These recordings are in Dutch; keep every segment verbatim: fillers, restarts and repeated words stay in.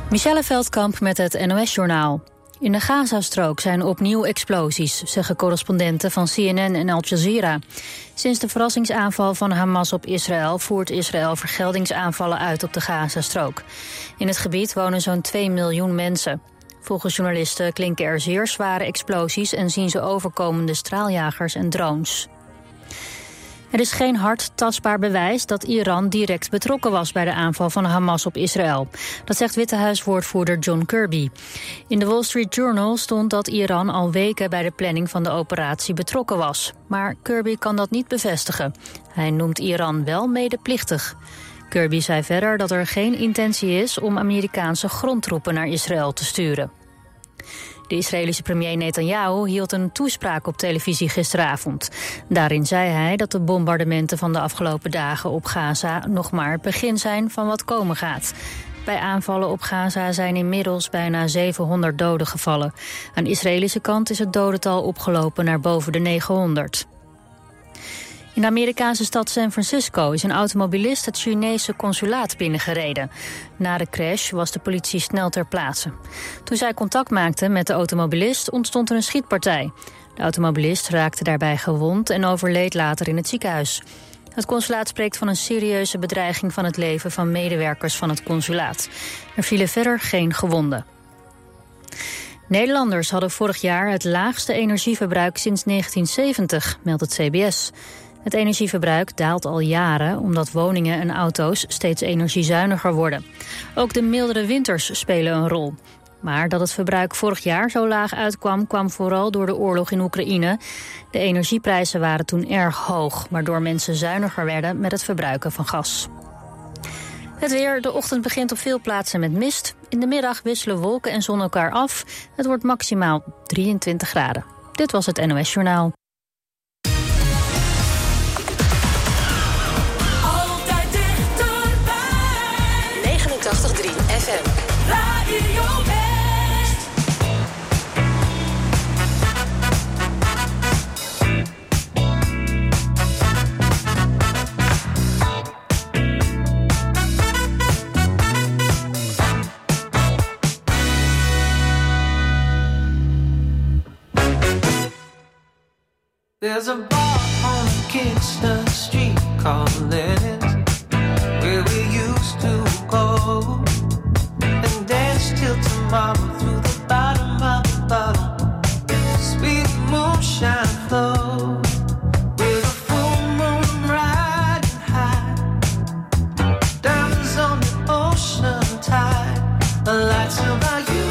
Michelle Veldkamp met het N O S-journaal. In de Gazastrook zijn opnieuw explosies, zeggen correspondenten van C N N en Al Jazeera. Sinds de verrassingsaanval van Hamas op Israël voert Israël vergeldingsaanvallen uit op de Gazastrook. In het gebied wonen zo'n twee miljoen mensen. Volgens journalisten klinken er zeer zware explosies en zien ze overkomende straaljagers en drones. Er is geen hard tastbaar bewijs dat Iran direct betrokken was bij de aanval van Hamas op Israël. Dat zegt Witte Huiswoordvoerder John Kirby. In de Wall Street Journal stond dat Iran al weken bij de planning van de operatie betrokken was. Maar Kirby kan dat niet bevestigen. Hij noemt Iran wel medeplichtig. Kirby zei verder dat er geen intentie is om Amerikaanse grondtroepen naar Israël te sturen. De Israëlische premier Netanyahu hield een toespraak op televisie gisteravond. Daarin zei hij dat de bombardementen van de afgelopen dagen op Gaza nog maar het begin zijn van wat komen gaat. Bij aanvallen op Gaza zijn inmiddels bijna zevenhonderd doden gevallen. Aan de Israëlische kant is het dodental opgelopen naar boven de negenhonderd. In de Amerikaanse stad San Francisco is een automobilist het Chinese consulaat binnengereden. Na de crash was de politie snel ter plaatse. Toen zij contact maakte met de automobilist ontstond er een schietpartij. De automobilist raakte daarbij gewond en overleed later in het ziekenhuis. Het consulaat spreekt van een serieuze bedreiging van het leven van medewerkers van het consulaat. Er vielen verder geen gewonden. Nederlanders hadden vorig jaar het laagste energieverbruik sinds negentien zeventig, meldt het C B S. Het energieverbruik daalt al jaren omdat woningen en auto's steeds energiezuiniger worden. Ook de mildere winters spelen een rol. Maar dat het verbruik vorig jaar zo laag uitkwam, kwam vooral door de oorlog in Oekraïne. De energieprijzen waren toen erg hoog, waardoor mensen zuiniger werden met het verbruiken van gas. Het weer, de ochtend begint op veel plaatsen met mist. In de middag wisselen wolken en zon elkaar af. Het wordt maximaal drieëntwintig graden. Dit was het N O S-journaal. Altijd dichterbij. negenentachtig komma drie F M. Radio West. There's a bar on Kingston Street called Lenny's, where we used to go and dance till tomorrow through the bottom of the bottle. Sweet moonshine flow with a full moon riding high. Diamonds on the ocean tide, the lights of our youth.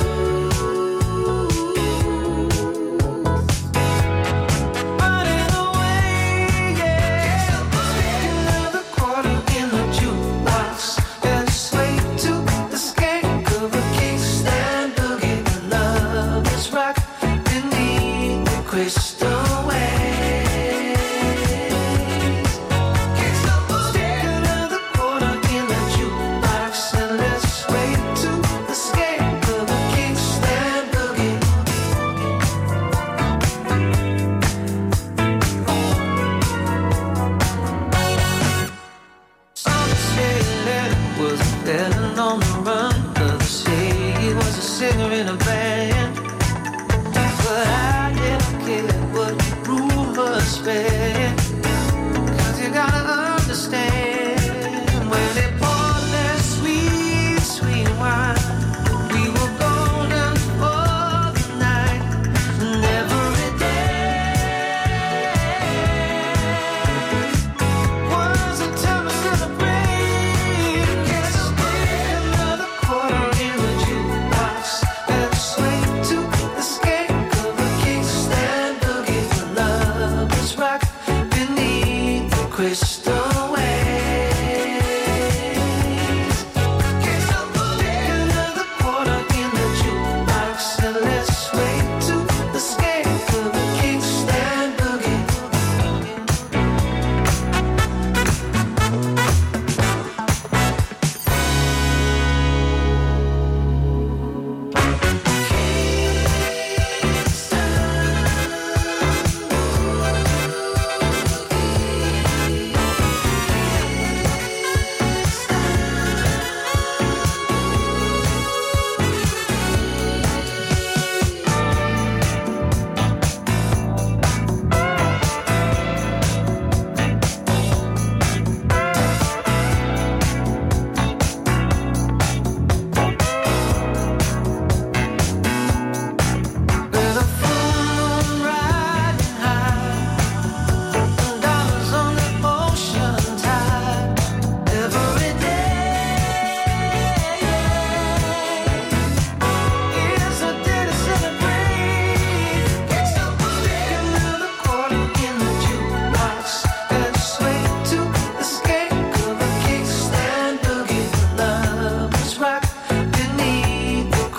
Rock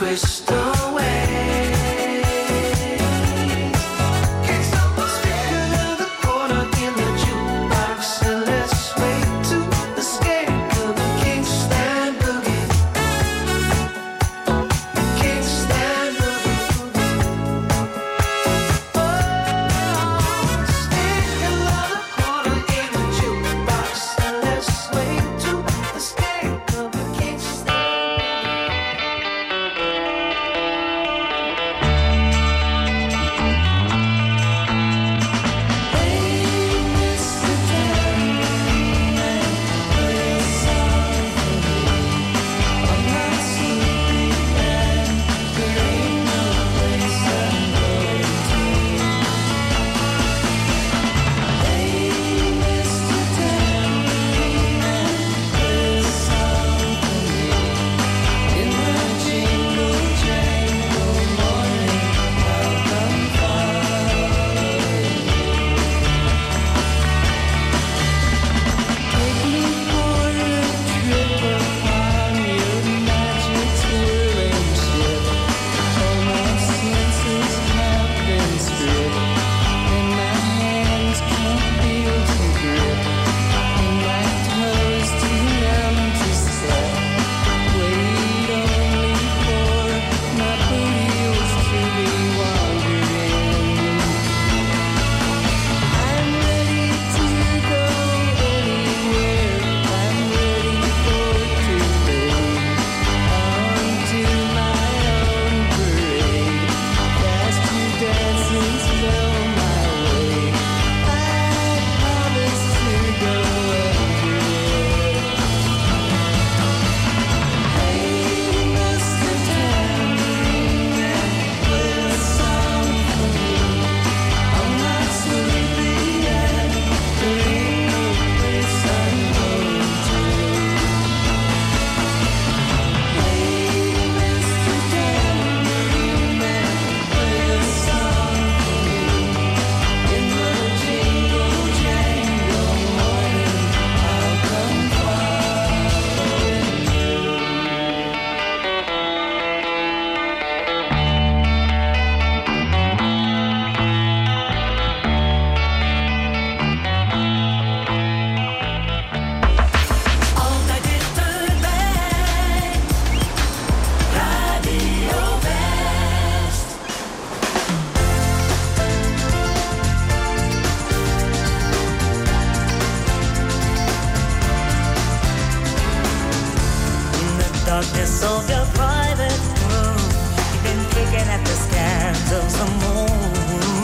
darkness of your private room, you've been picking at the scans of the moon.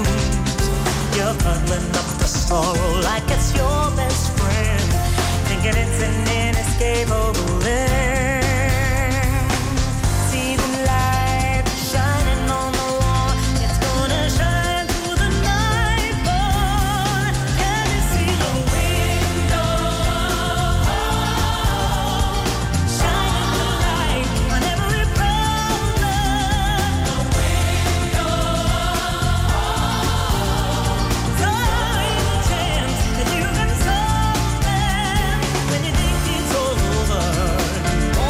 You're cuddling up the sorrow like it's your best friend, thinking it's an inescapable end. See the light shining on the wall, it's gonna shine through the night, boy. Can you see the window? Shining the light on every problem. The window. Throwing a chance that you can solve them when you think it's over.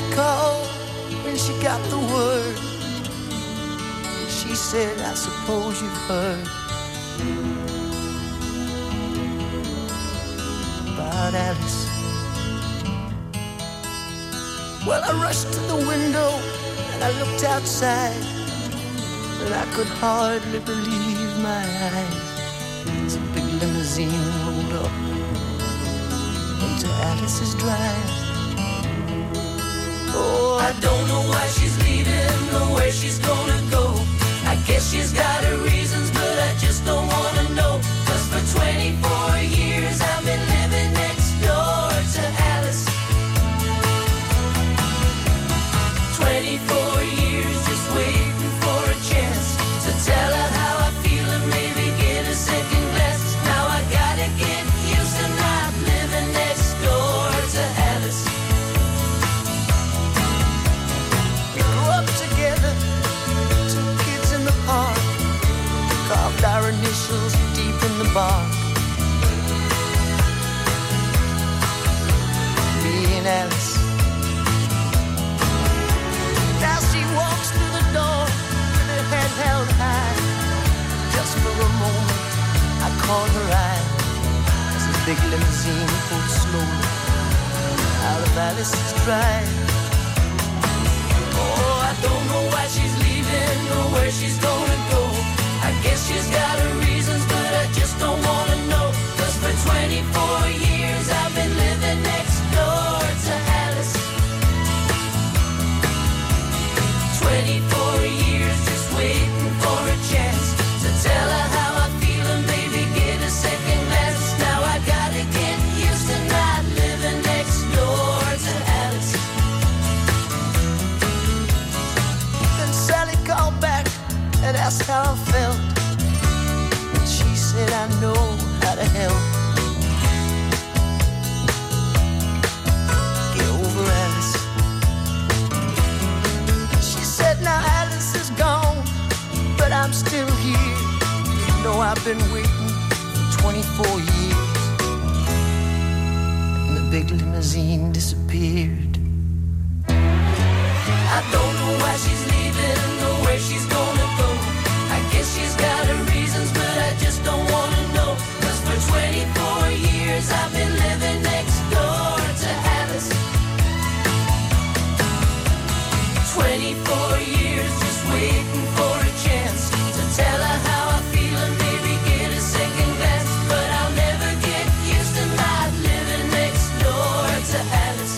Sally called when she got the word. She said, I suppose you've heard about Alice. Well, I rushed to the window and I looked outside, and I could hardly believe my eyes. As a big limousine rolled up into Alice's drive. Oh, I don't know why she's leaving or where she's gonna go. I guess she's got her reasons, but I just don't wanna know. Cause for twenty-four years I've been living next door to Alice. twenty-four years just waiting for a chance to tell her how I feel and maybe get a second glance. Now I gotta get used to not living next door to Alice. We grew up together, two kids in the park, carved our initials deep in the bark. Me and Alice. Now she walks through the door with her head held high. Just for a moment, I caught her eye as the big limousine pulled slowly out of Alice's drive. Oh, I don't know why she's leaving or where she's gonna go. I guess she's got her reasons, but I just don't wanna know. Cause for twenty-four years I've been living next door to Alice. twenty-four years just waiting for a chance to tell her how I feel and maybe get a second glance. Now I gotta get used to not living next door to Alice. Then Sally called back and asked how I felt, and she said, I know how to help. Get over Alice. She said, now Alice is gone, but I'm still here. You know I've been waiting for twenty-four years. And the big limousine disappeared. I don't know why she's leaving or where she's gonna go. I guess she's got her reasons, but I just don't wanna know. Cause for twenty-four years I've been living next door to Alice. twenty-four years just waiting for a chance to tell her how I feel and maybe get a second glance. But I'll never get used to not living next door to Alice.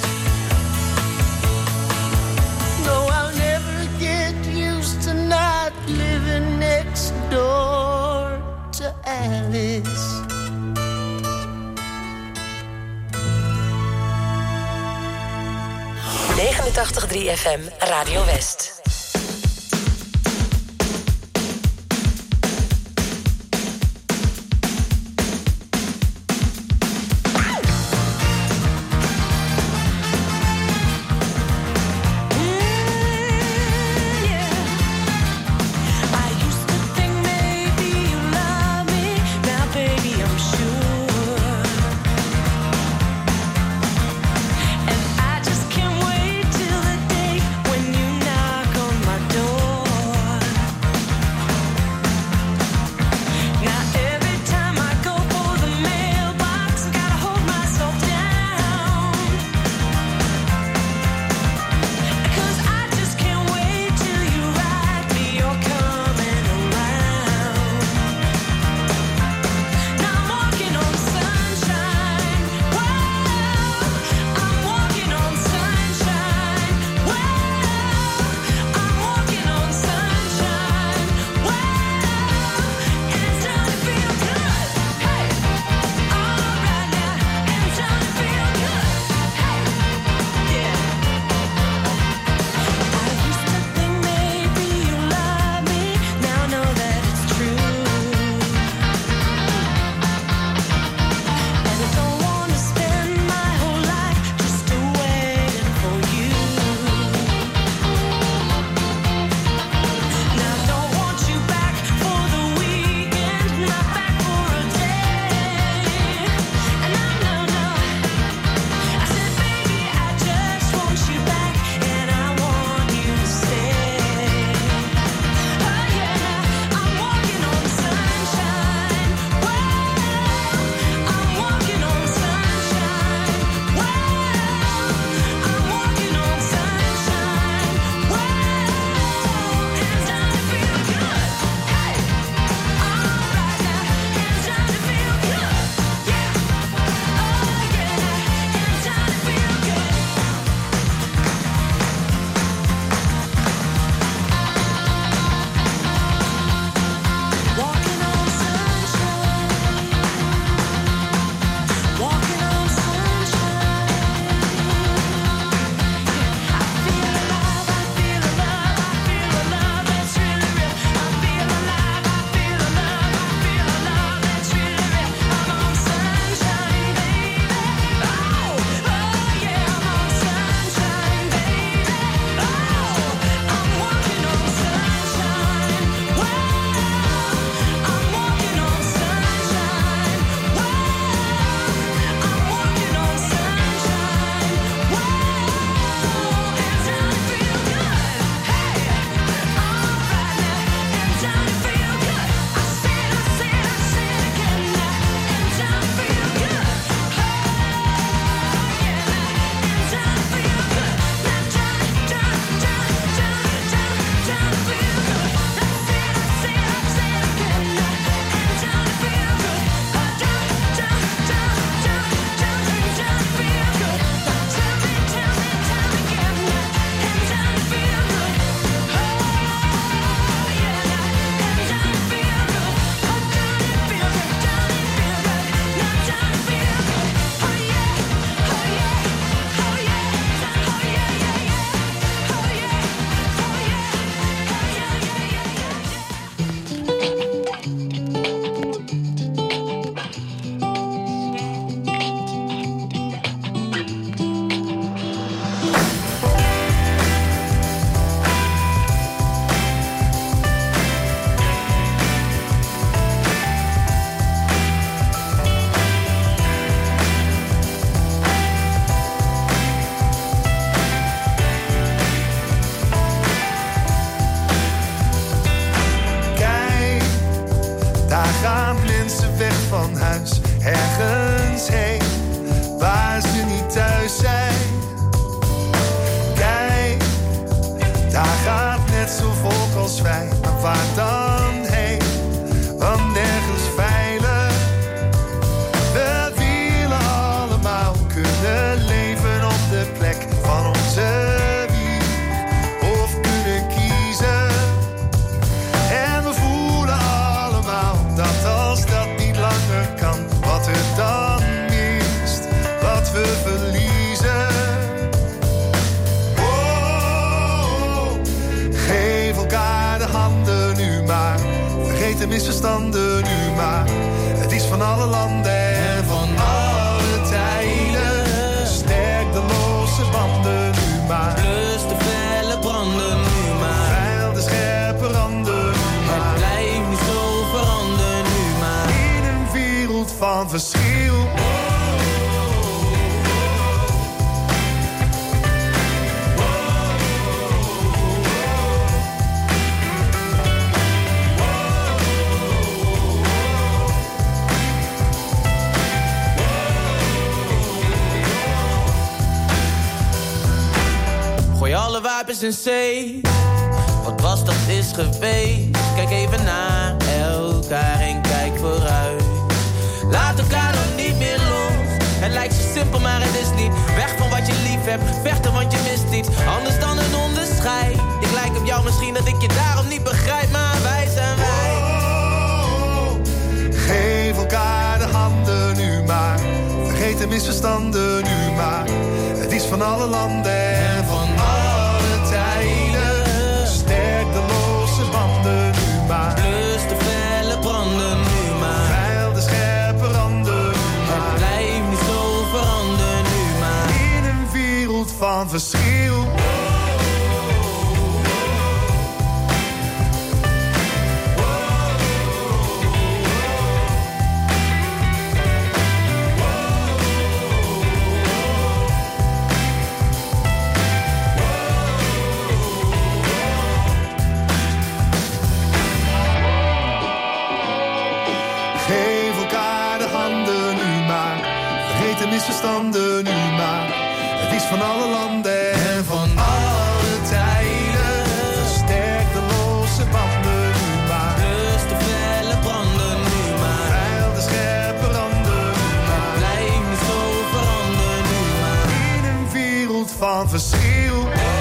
No, I'll never get used to not living next door to Alice. negenentachtig komma drie F M Radio West. And I just can't wait till the day when you knock vergeten misverstanden nu maar. Het is van alle landen en van alle tijden. Sterk de losse banden nu maar. Plus de felle branden nu maar. Veil de scherpe randen nu maar. Het blijft niet zo veranderen nu maar. In een wereld van verschil. Gooi alle wapens in zee. Wat was dat is geweest. Kijk even naar elkaar en kijk vooruit. Laat elkaar dan niet meer los. Het lijkt zo simpel maar het is niet. Weg van wat je lief hebt, vechten want je mist iets. Anders dan een onderscheid. Ik lijk op jou misschien dat ik je daarom niet begrijp. Maar wij zijn wij. Oh, geef elkaar de handen nu maar. Vergeet de misverstanden nu maar. Het is van alle landen en van alle tijden. Sterk de losse banden nu maar. Plus de felle branden nu maar. Veil de scherpe randen nu maar. Het blijft niet zo veranderen nu maar. In een wereld van verschil. Geef elkaar de handen nu maar. Vergeet de misverstanden nu maar. Het is van alle landen en van alle tijden. Sterk de losse banden nu maar. Plus de felle branden nu maar. Veil de scherpe randen nu maar. Blijf niet zo veranderen nu maar. In een wereld van verschil.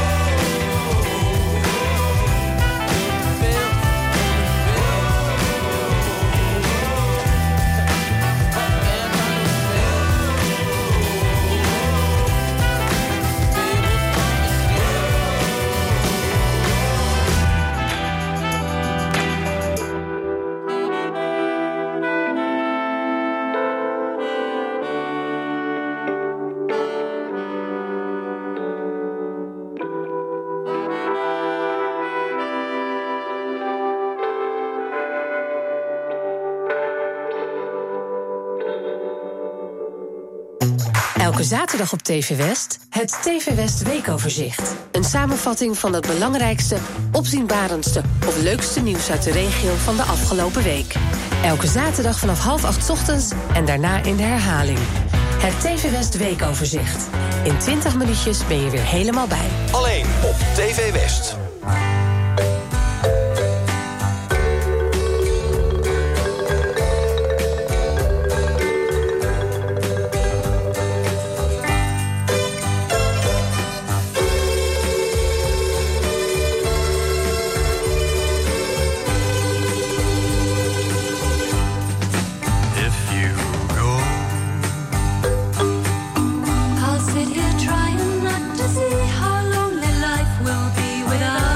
Elke zaterdag op T V West, het T V West Weekoverzicht. Een samenvatting van het belangrijkste, opzienbarendste of leukste nieuws uit de regio van de afgelopen week. Elke zaterdag vanaf half acht 's ochtends en daarna in de herhaling. Het T V West Weekoverzicht. In twintig minuutjes ben je weer helemaal bij. Alleen op T V West. I'll sit here trying not to see how lonely life will be without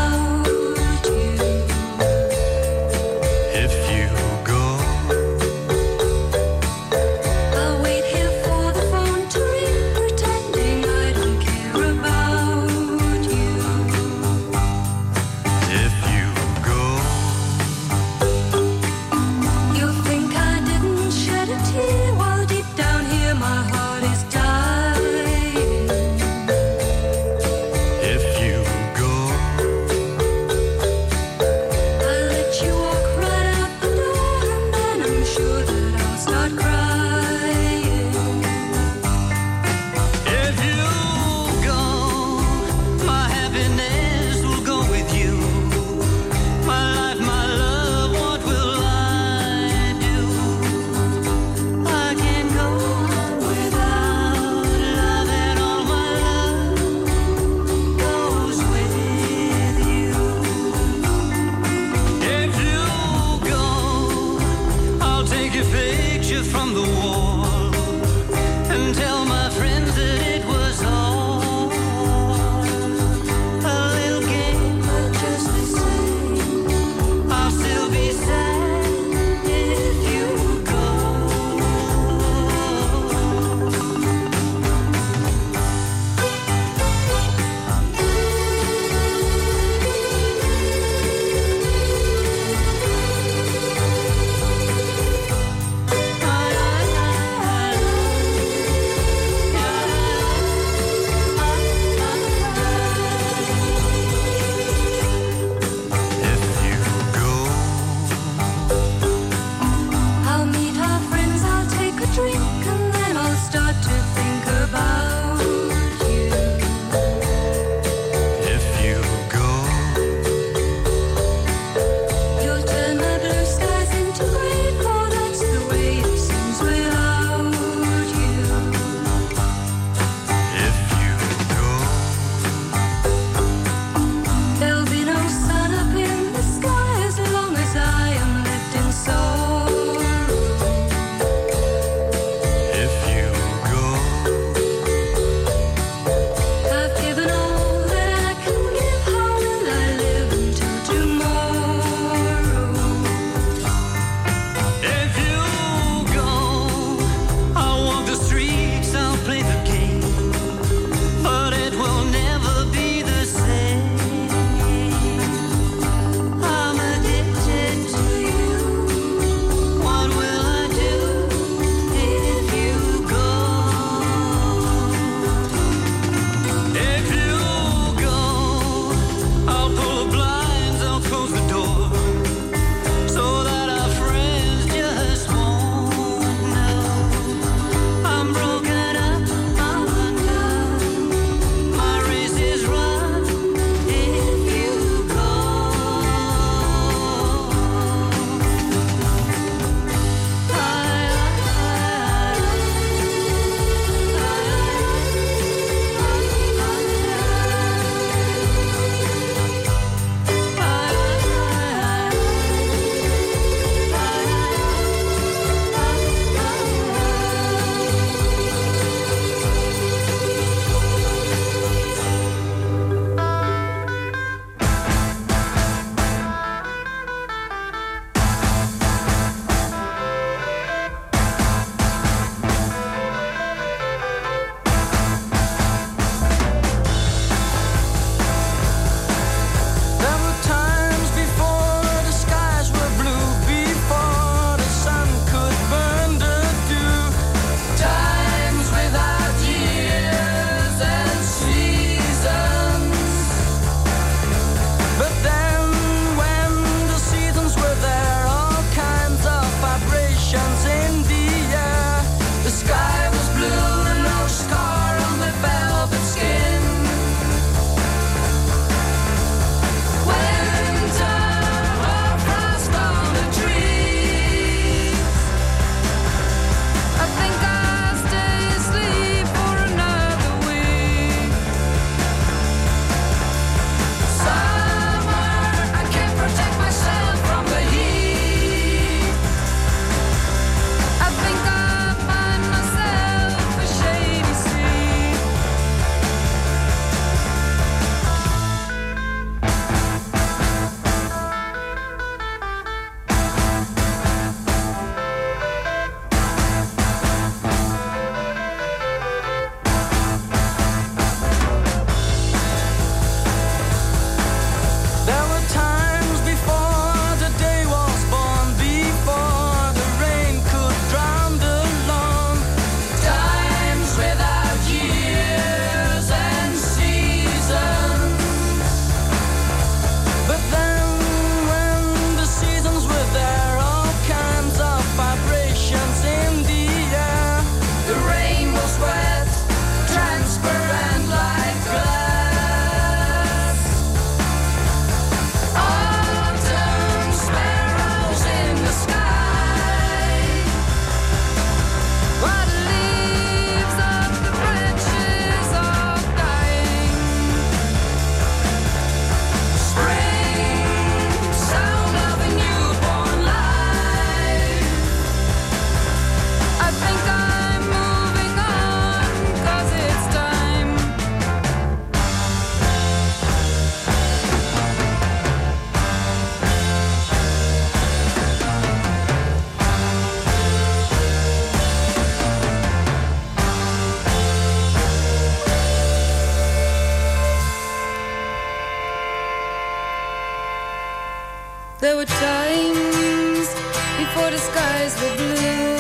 There were times before the skies were blue,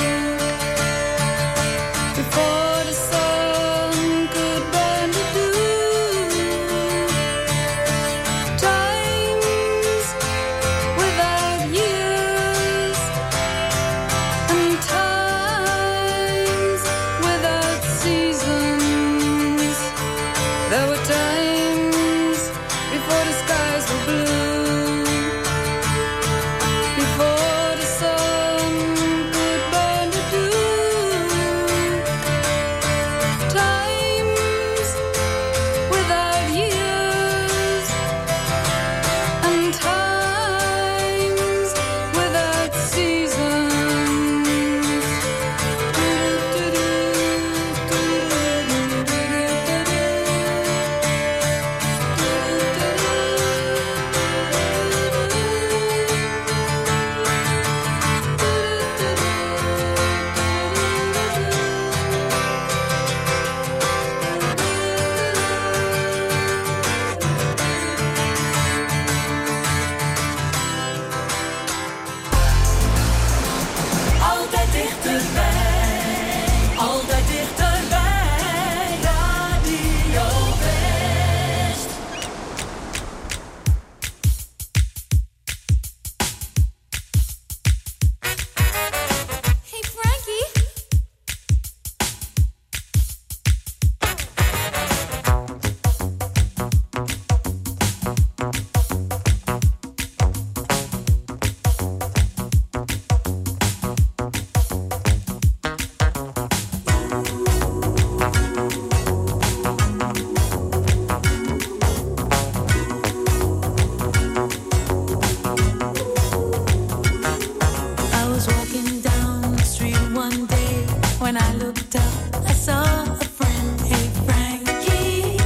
before the sun could burn the dew, times without years, and times without seasons. There were times before the skies were blue, before the sun could burn the dew, times without years, and times without seasons. Altijd dichterbij, altijd dichterbij. Radio West. Hey Frankie. I was walking down the street one day. When I looked up, I saw a friend. Hey Frankie,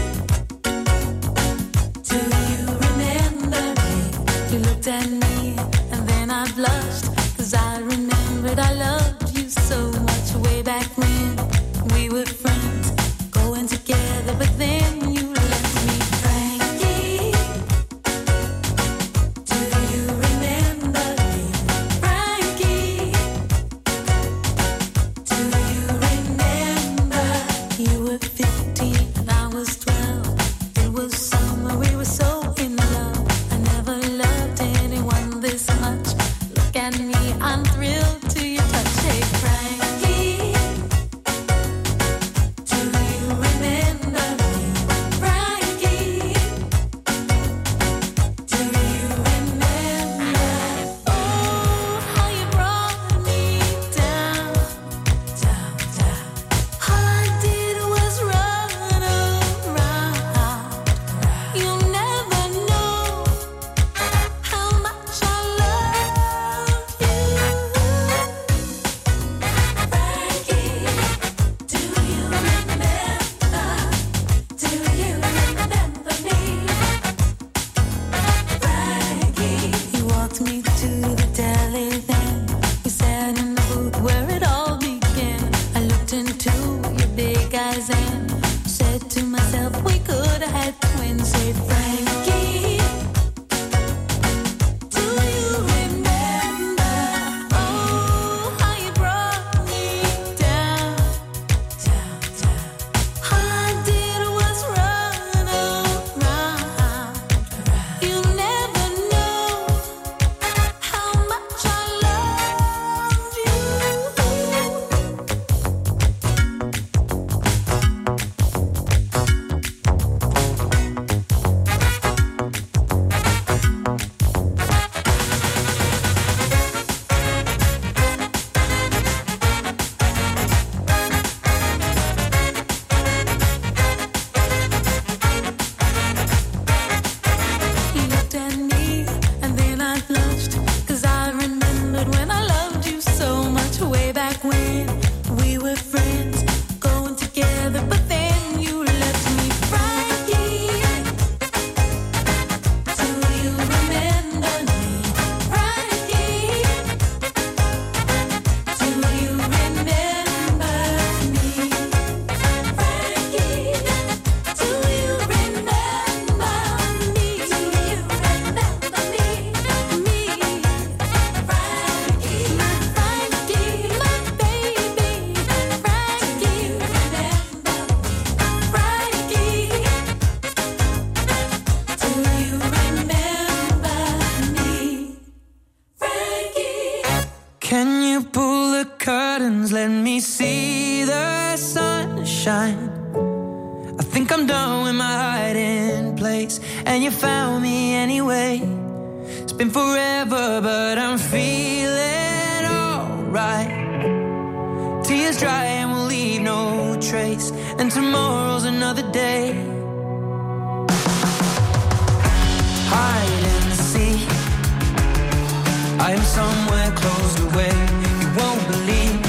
do you remember me? You looked at me and then I blushed, 'cause I remembered I loved you so much way back when we were friends, going together, but then you left me. Frankie, do you remember me? Frankie, do you remember? You were fifteen and I was twelve. It was summer, we were so in love. I never loved anyone this much. Look at me, I'm thrilled to your touch. Hey Frankie, do you remember me? Frankie, do you remember? Oh, how you brought me down, down, down. All I did was run around. You'll never know how much I love you. Can you pull the curtains, let me see the sunshine? I think I'm done with my hiding place, and you found me anyway. It's been forever, but I'm feeling alright. Tears dry and we'll leave no trace, and tomorrow's another day. Hide and seek, I am somewhere closed away. You won't believe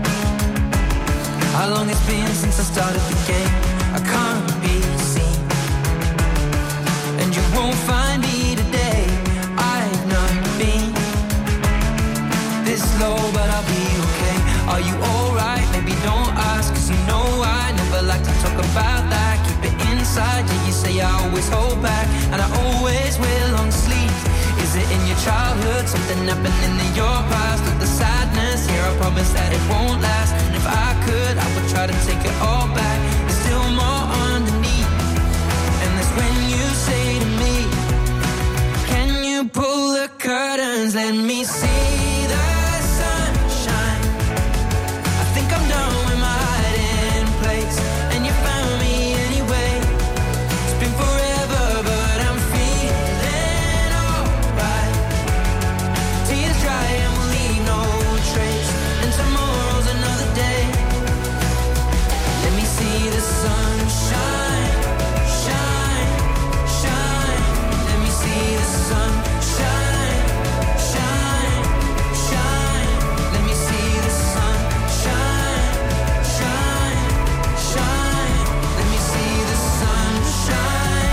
how long it's been since I started the game. I can't be seen, and you won't find me today. I've not been this low, but I'll be okay. Are you alright? Maybe don't ask, cause you know I never like to talk about that. Keep it inside, yeah, you say I always hold back, and I always wear long sleeves. Is it in your childhood, something happening in your past? Or the sadness, here I promise that it won't last. And if I could, I would try to take it all back. There's still more underneath, and that's when you say to me, can you pull the curtains, let me see the sunshine? I think I'm done with my hiding place, and you found me anyway. It's been forever, but I'm feeling alright. Tears dry and we'll leave no trace, and tomorrow's another day. Let me see the sunshine, shine, shine. Let me see the sunshine, shine, shine. Let me see the sunshine, shine, shine. Let me see the sunshine.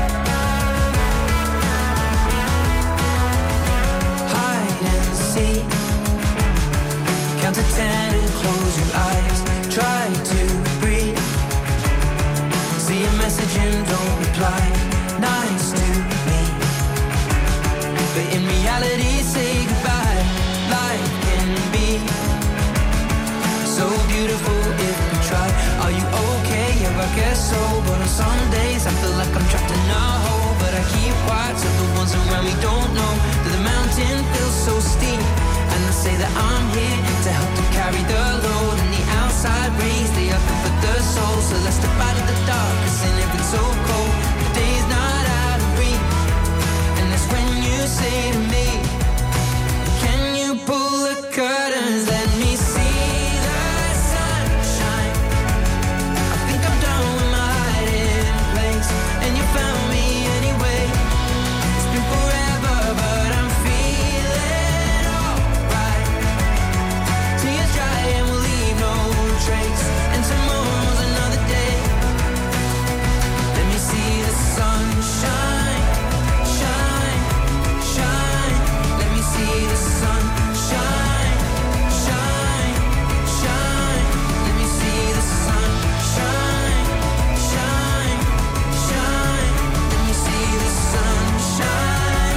Hide and seek, count to ten and close your eyes. Try to breathe, see a message and don't reply. Nice to me, but in reality say goodbye. Life can be so beautiful if we try. Are you okay? Yeah, I guess so. But on some days I feel like I'm trapped in a hole, but I keep quiet so the ones around me don't know that the mountain feels so steep. And I say that I'm here to help them carry the load, and the outside rays, they are good for the soul. So let's step out of the dark, cause in it it's so cold. The day's not out of reach, and that's when you say to me, can you pull the curtains, let me see the sunshine? I think I'm done with my hiding place, and you found me anyway. It's been forever, but I'm feeling alright. Tears dry and we'll leave no trace, and tomorrow's another day. Let me see the sunshine, shine, shine. Let me see the sunshine, shine, shine. Let me see the sunshine, shine, shine. Let me see the sunshine.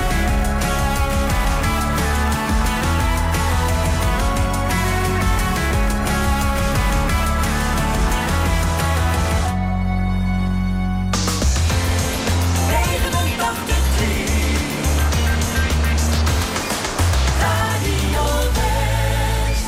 negenentachtig drie Radio West.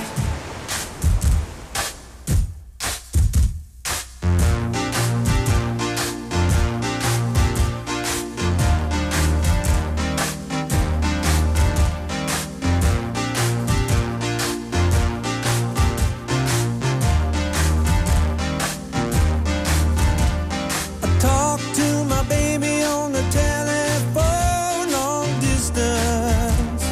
I talk to my baby on the telephone, long distance.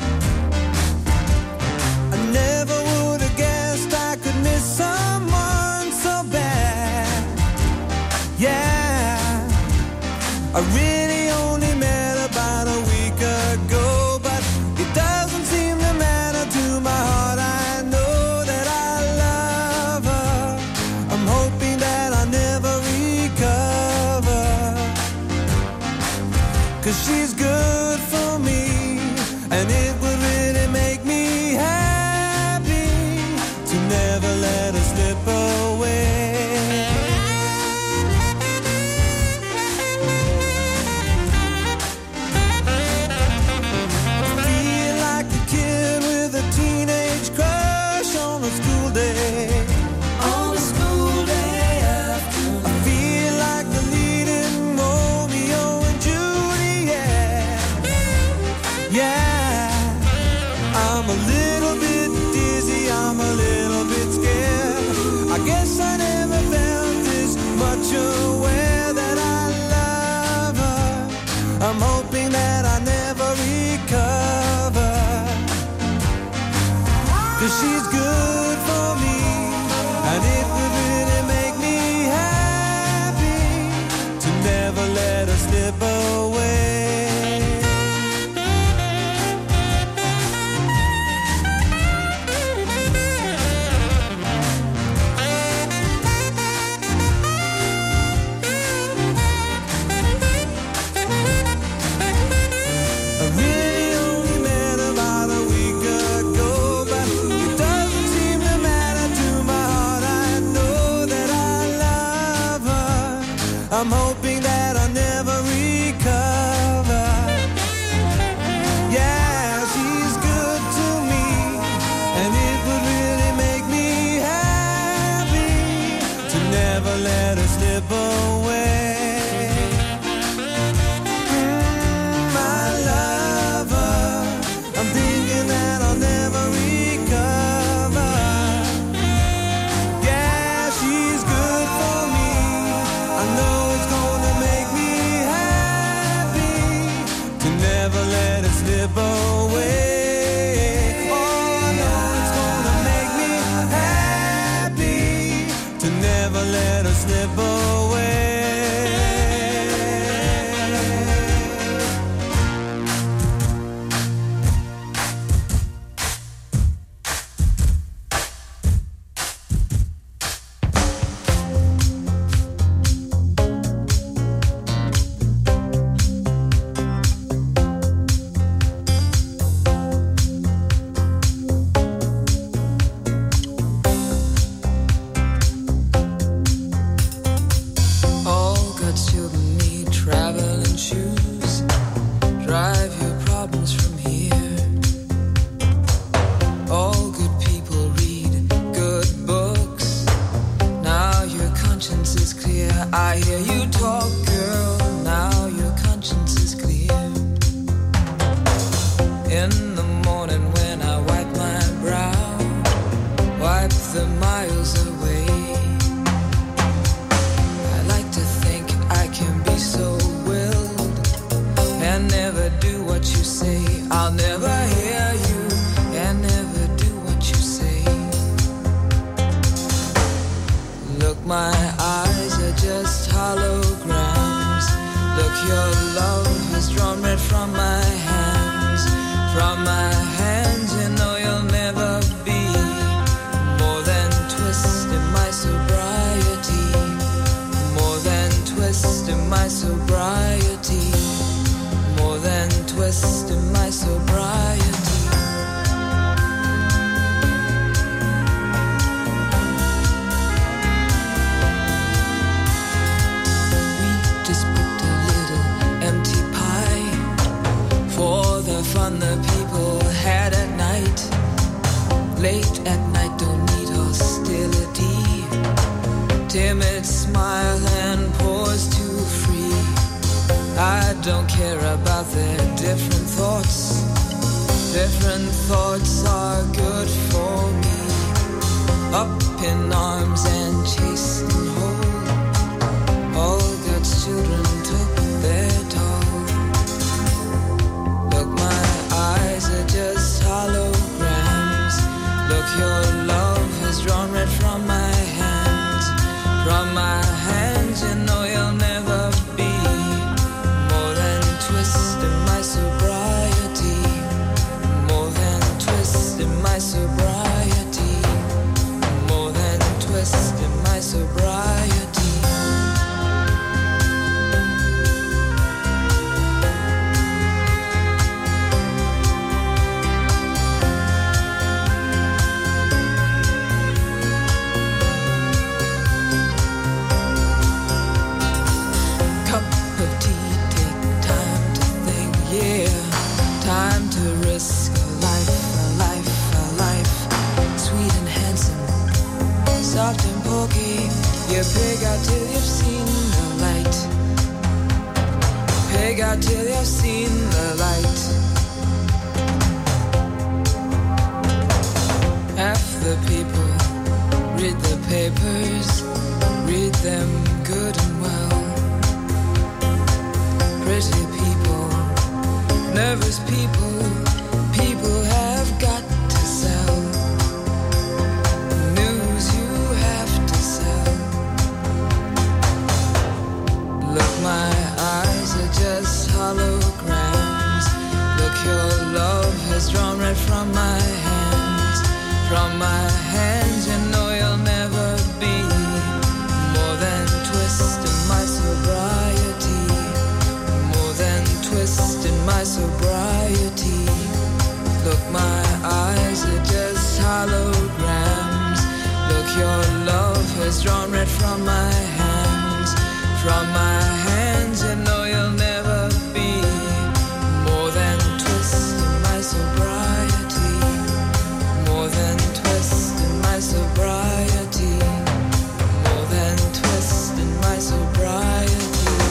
I never would have guessed I could miss someone so bad. Yeah, I really only met about a week ago, but it doesn't seem to matter to my heart. I know that I love her. I'm hoping that I never recover, cause she's good for me, and it would really make me happy to never let her slip away. I never felt this much aware that I love her. I'm hoping that I never recover, 'cause she's good for me, and it would really make me happy to never let her slip away. I'm hoping that I'll never recover. Yeah, she's good to me, and it would really make me happy to never let her slip away. Mm, I love her. I'm thinking that I'll never recover. Yeah, she's good for me. I know never let it slip away. Oh, I know it's gonna make me happy to never let it slip away. Half the people read the paper papers, read them good and well. Pretty people, nervous people, people have got to sell. News you have to sell. Look, my eyes are just holograms. Look, your love has drawn red from my hands. From my hands, you know you'll never be more than twist in my sobriety. More than twist in my sobriety. Look, my eyes are just holograms. Look, your love has drawn red from my hands. From my hands, you know you'll never be more than twist in my sobriety. More than twist in my sobriety. More than twist in my sobriety.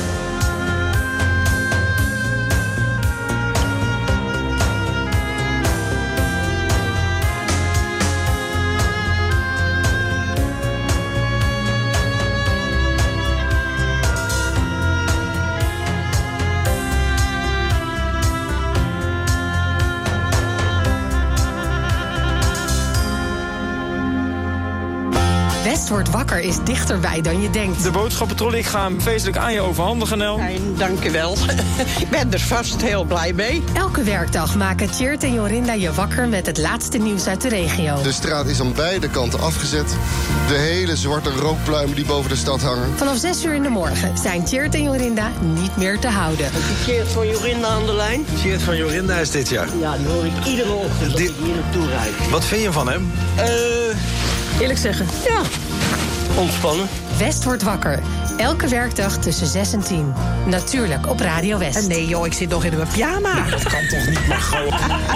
West wordt wakker is dichterbij dan je denkt. De boodschappentrol, ik ga hem feestelijk aan je overhandigen, Nel. Fijn, dank je wel. Ik ben er vast heel blij mee. Elke werkdag maken Tjeerd en Jorinda je wakker met het laatste nieuws uit de regio. De straat is aan beide kanten afgezet. De hele zwarte rookpluimen die boven de stad hangen. Vanaf zes uur in de morgen zijn Tjeerd en Jorinda niet meer te houden. Heb je Tjeerd van Jorinda aan de lijn? Tjeerd van Jorinda is dit jaar. Ja, die hoor ik iedere ochtend als ik hier naartoe rijd. Wat vind je van hem? Eh... Eerlijk zeggen. Ja, ontspannen. West wordt wakker. Elke werkdag tussen zes en tien. Natuurlijk op Radio West. En nee joh, ik zit nog in mijn pyjama. Nou, dat kan toch niet, maar gewoon.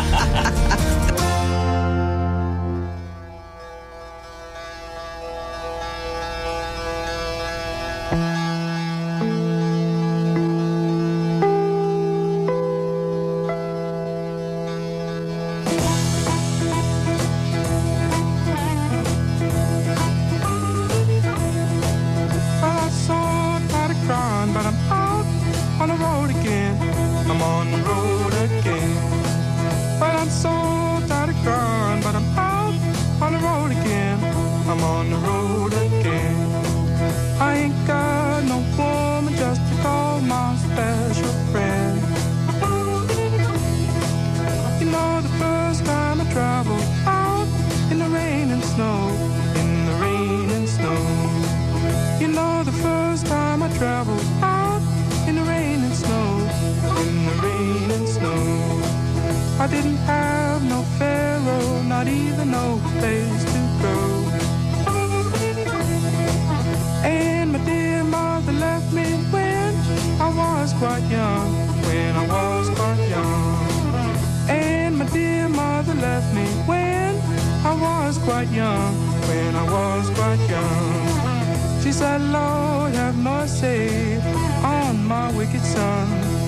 I didn't have no pharaoh, not even no place to go. And my dear mother left me when I was quite young, when I was quite young. And my dear mother left me when I was quite young, when I was quite young. She said, Lord, have mercy on my wicked son.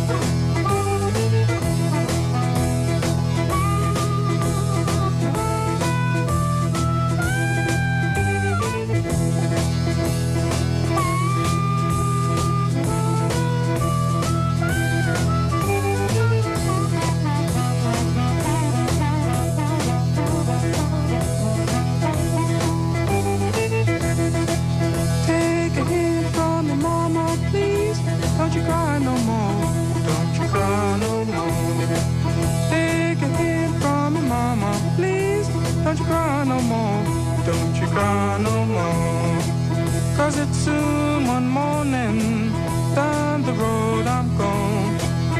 Don't you cry no more, don't you cry no more. Cause it's soon one morning, down the road I'm gone.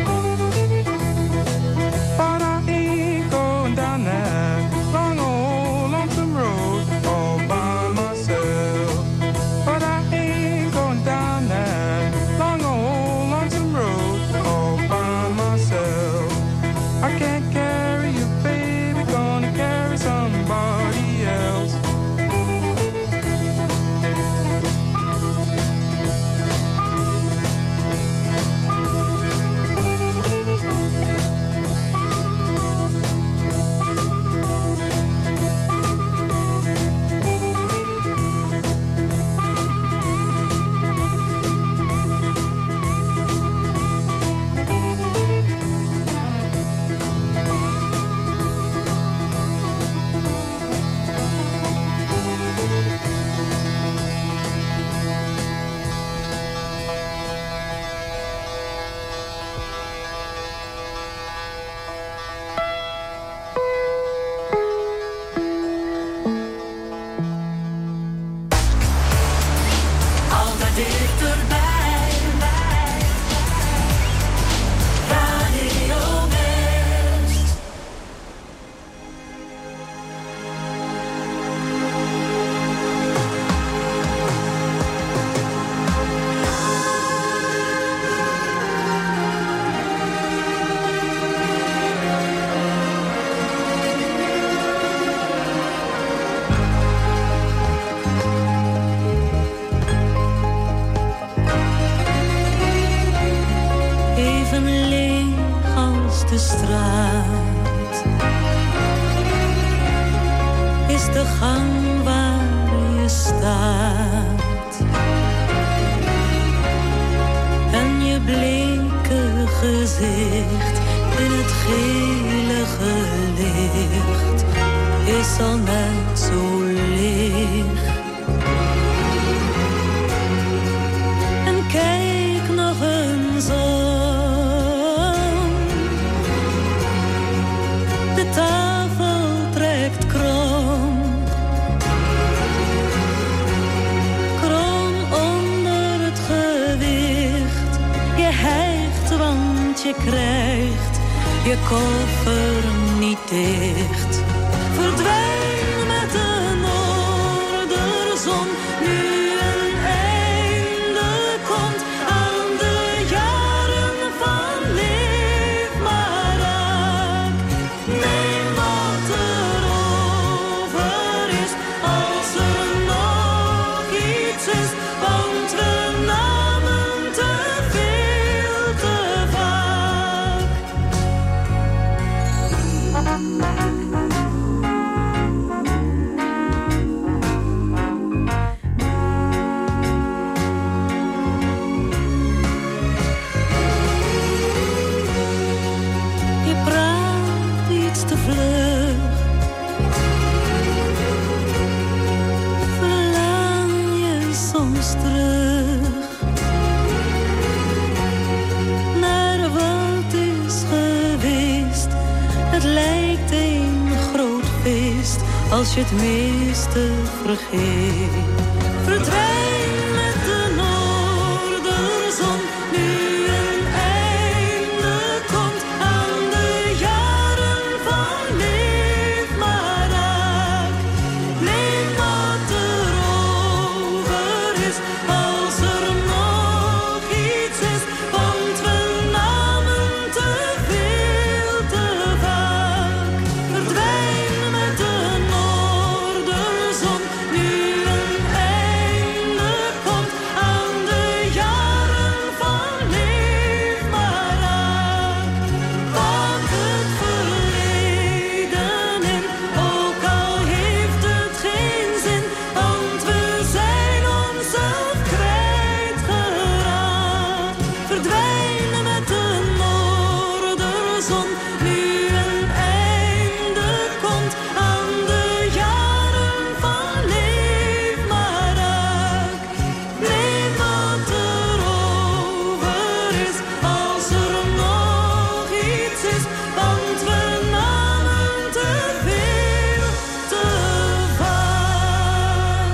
But I ain't going down that long old lonesome road all by myself. But I ain't going down that long old lonesome road all by myself. I can't carry you, baby, gonna carry somebody else. is de gang waar je staat. En je bleke gezicht in het gelige licht is al net zo licht. En kijk nog eens om. De tafel trekt krom. Krom onder het gewicht. Je hijgt want je krijgt je koffer niet dicht. Verdwijn met de noorderzon. Nu een einde komt aan de jaren van leef maar raak. Neem wat er over is, als er nog iets is. Want we namen te veel te vaak. Je praat iets te vlug. Verlang je soms terug naar wat is geweest. Het lijkt een groot feest als je het meeste vergeet. Verdwijn met de noorderzon. Nu een einde komt aan de jaren van leef maar raak. Neem wat er over is, als er nog iets is. Want we namen te veel te vaak. Verdwijn met de noorderzon. Nu een einde komt aan de jaren van leef maar raak. Pak het verleden in, ook al heeft het geen zin. Want we zijn onszelf kwijtgeraakt. Verdwijn met de noorderzon. Nu een einde komt aan de jaren van leef maar raak. Neem wat er over is, als er nog iets is. Want we namen te veel te vaak.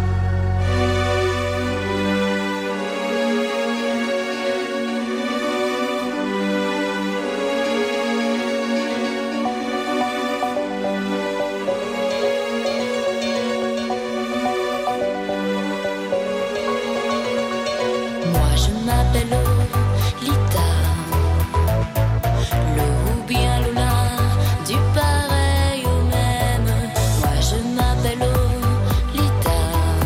Moi je m'appelle Lolita, le ou bien Lola, du pareil au même. Moi je m'appelle Lolita,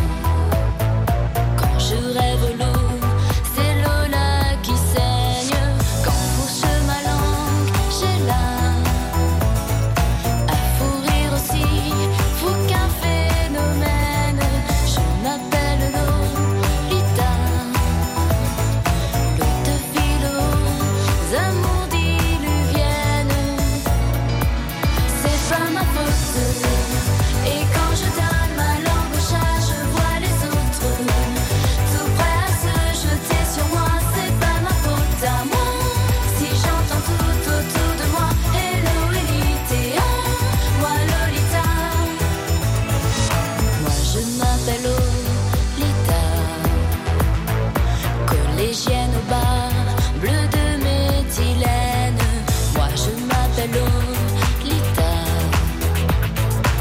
quand je rêve l'eau, c'est Lola qui saigne. Quand fourche ma langue, j'ai là à fou rire aussi, fou qu'un phénomène. Je m'appelle Lolita, l'eau de philo, amours diluviennes. C'est pas ma faute. Et quand je donne ma langue au chat, je vois les autres tout prêts à se jeter sur moi. C'est pas ma faute à moi si j'entends tout autour de moi. Hello Elita, moi Lolita. Moi je m'appelle Lolita, collégienne au bar, bleu de méthylène. Moi je m'appelle Lolita,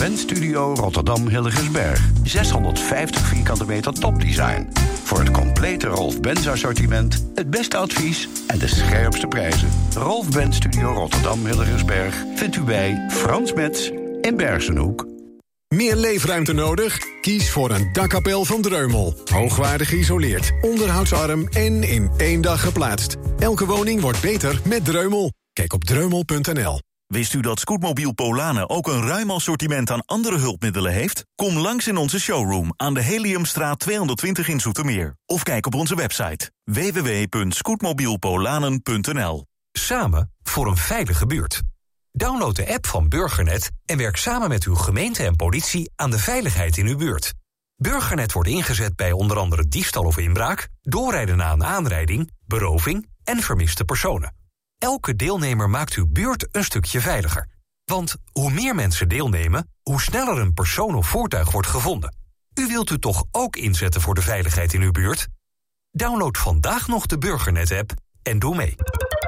Benz Studio Rotterdam Hilligensberg. zeshonderdvijftig vierkante meter topdesign. Voor het complete Rolf Benz assortiment, het beste advies en de scherpste prijzen. Rolf Benz Studio Rotterdam Hilligensberg vindt u bij Frans Metz in Bergenhoek. Meer leefruimte nodig? Kies voor een dakkapel van Dreumel. Hoogwaardig geïsoleerd, onderhoudsarm en in één dag geplaatst. Elke woning wordt beter met Dreumel. Kijk op dreumel punt n l. Wist u dat Scootmobiel Polanen ook een ruim assortiment aan andere hulpmiddelen heeft? Kom langs in onze showroom aan de Heliumstraat tweehonderdtwintig in Zoetermeer. Of kijk op onze website w w w punt scootmobielpolanen punt n l. Samen voor een veilige buurt. Download de app van Burgernet en werk samen met uw gemeente en politie aan de veiligheid in uw buurt. Burgernet wordt ingezet bij onder andere diefstal of inbraak, doorrijden na een aanrijding, beroving en vermiste personen. Elke deelnemer maakt uw buurt een stukje veiliger. Want hoe meer mensen deelnemen, hoe sneller een persoon of voertuig wordt gevonden. U wilt u toch ook inzetten voor de veiligheid in uw buurt? Download vandaag nog de Burgernet-app en doe mee.